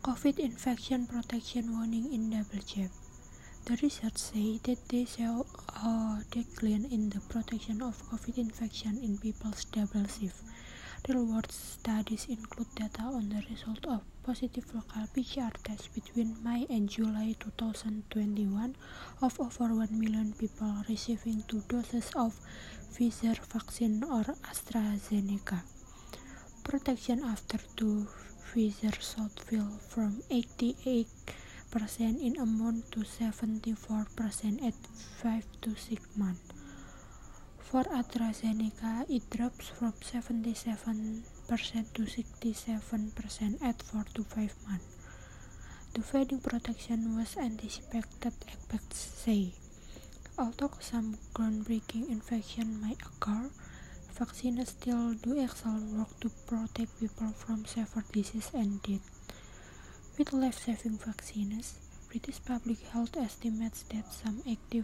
COVID infection protection warning in double jab. The research say that they show a decline in the protection of COVID infection in people's double shift. Real-world studies include data on the result of positive local PCR tests between May and July 2021 of over 1 million people receiving 2 doses of Pfizer vaccine or AstraZeneca. Protection after 2 Pfizer shots fell from 88% in a month to 74% at 5 to 6 months. For AstraZeneca, it drops from 77% to 67% at 4 to 5 months. The fading protection was anticipated, experts say. Although some groundbreaking infection may occur, vaccines still do excellent work to protect people from severe disease and death. With life-saving vaccines, British Public Health estimates that some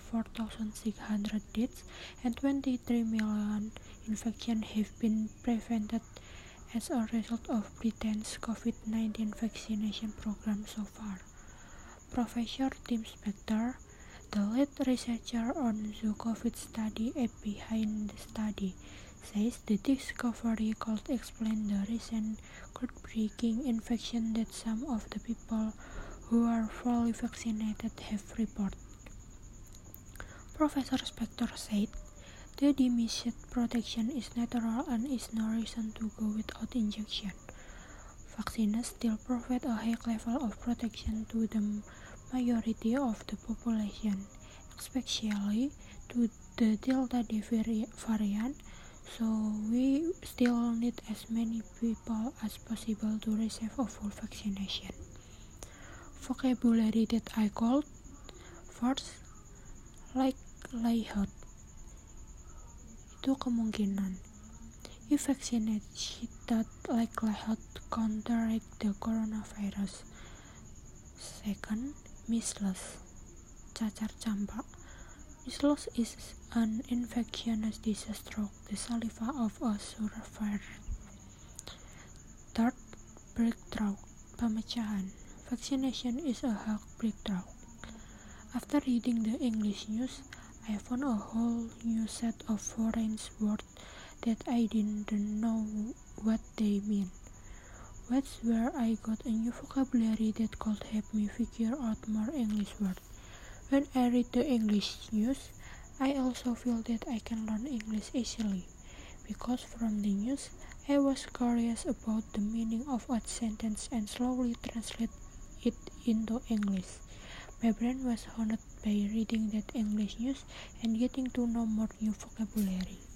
84,600 deaths and 23 million infections have been prevented as a result of Britain's COVID-19 vaccination program so far. Professor Tim Spector, the lead researcher on the COVID study and behind the study, says the discovery could explain the recent groundbreaking infection that some of the people who are fully vaccinated have reported. Professor Spector said, the diminished protection is natural and is no reason to go without injection. Vaccines still provide a high level of protection to the majority of the population, especially to the Delta variant, so we still need as many people as possible to receive a full vaccination. Vocabulary that I called first, likelihood. Itu kemungkinan. If vaccinated, likelihood to contract the coronavirus. Second, measles. Cacar campak. Measles is an infectious disease through the saliva of a survivor. Third, breakthrough. Pemecahan. Vaccination is a huge breakthrough. After reading the English news, I found a whole new set of foreign words that I didn't know what they mean. That's where I got a new vocabulary that could help me figure out more English words. When I read the English news, I also feel that I can learn English easily, because from the news, I was curious about the meaning of a sentence and slowly translate it into English. My brain was honed by reading that English news and getting to know more new vocabulary.